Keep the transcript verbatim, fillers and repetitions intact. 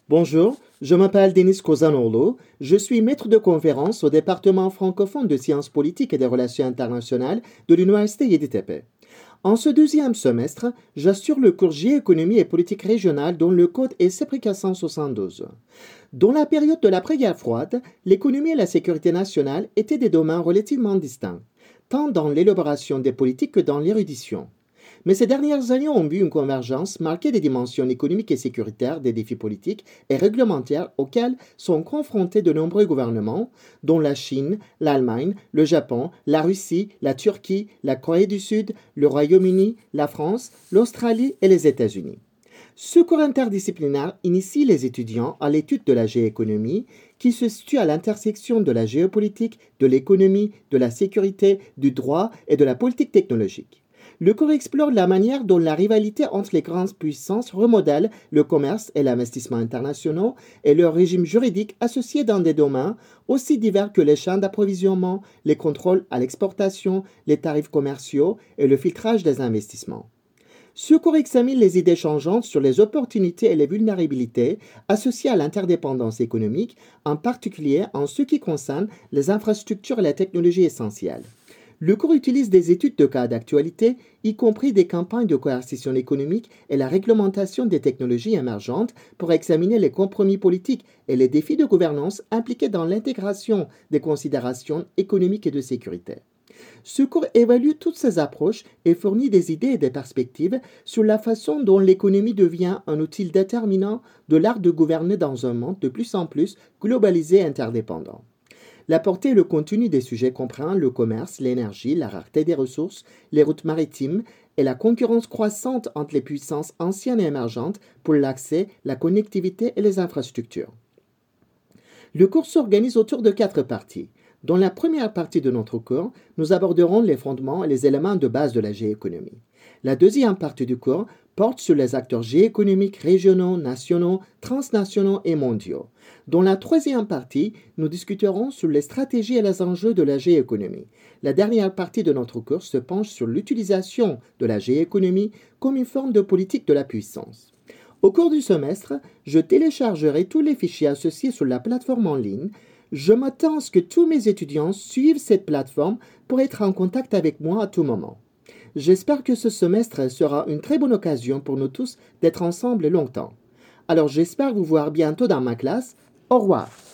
Bonjour, je m'appelle Denis Kozanoğlu, je suis maître de conférence au département francophone de sciences politiques et des relations internationales de l'Université Yeditepe. En ce deuxième semestre, j'assure le cours Géoéconomie et politique régionale dont le code est C P K cent soixante-douze. Dans la période de l'après-guerre froide, l'économie et la sécurité nationale étaient des domaines relativement distincts, tant dans l'élaboration des politiques que dans l'érudition. Mais ces dernières années ont vu une convergence marquée des dimensions économiques et sécuritaires des défis politiques et réglementaires auxquels sont confrontés de nombreux gouvernements, dont la Chine, l'Allemagne, le Japon, la Russie, la Turquie, la Corée du Sud, le Royaume-Uni, la France, l'Australie et les États-Unis. Ce cours interdisciplinaire initie les étudiants à l'étude de la géoéconomie, qui se situe à l'intersection de la géopolitique, de l'économie, de la sécurité, du droit et de la politique technologique. Le cours explore la manière dont la rivalité entre les grandes puissances remodèle le commerce et l'investissement internationaux et leur régime juridique associé dans des domaines aussi divers que les chaînes d'approvisionnement, les contrôles à l'exportation, les tarifs commerciaux et le filtrage des investissements. Ce cours examine les idées changeantes sur les opportunités et les vulnérabilités associées à l'interdépendance économique, en particulier en ce qui concerne les infrastructures et la technologie essentielles. Le cours utilise des études de cas d'actualité, y compris des campagnes de coercition économique et la réglementation des technologies émergentes pour examiner les compromis politiques et les défis de gouvernance impliqués dans l'intégration des considérations économiques et de sécurité. Ce cours évalue toutes ces approches et fournit des idées et des perspectives sur la façon dont l'économie devient un outil déterminant de l'art de gouverner dans un monde de plus en plus globalisé et interdépendant. La portée et le contenu des sujets comprend le commerce, l'énergie, la rareté des ressources, les routes maritimes et la concurrence croissante entre les puissances anciennes et émergentes pour l'accès, la connectivité et les infrastructures. Le cours s'organise autour de quatre parties. Dans la première partie de notre cours, nous aborderons les fondements et les éléments de base de la géoéconomie. La deuxième partie du cours porte sur les acteurs géoéconomiques régionaux, nationaux, transnationaux et mondiaux. Dans la troisième partie, nous discuterons sur les stratégies et les enjeux de la géoéconomie. La dernière partie de notre cours se penche sur l'utilisation de la géoéconomie comme une forme de politique de la puissance. Au cours du semestre, je téléchargerai tous les fichiers associés sur la plateforme en ligne. Je m'attends à ce que tous mes étudiants suivent cette plateforme pour être en contact avec moi à tout moment. J'espère que ce semestre sera une très bonne occasion pour nous tous d'être ensemble longtemps. Alors j'espère vous voir bientôt dans ma classe. Au revoir.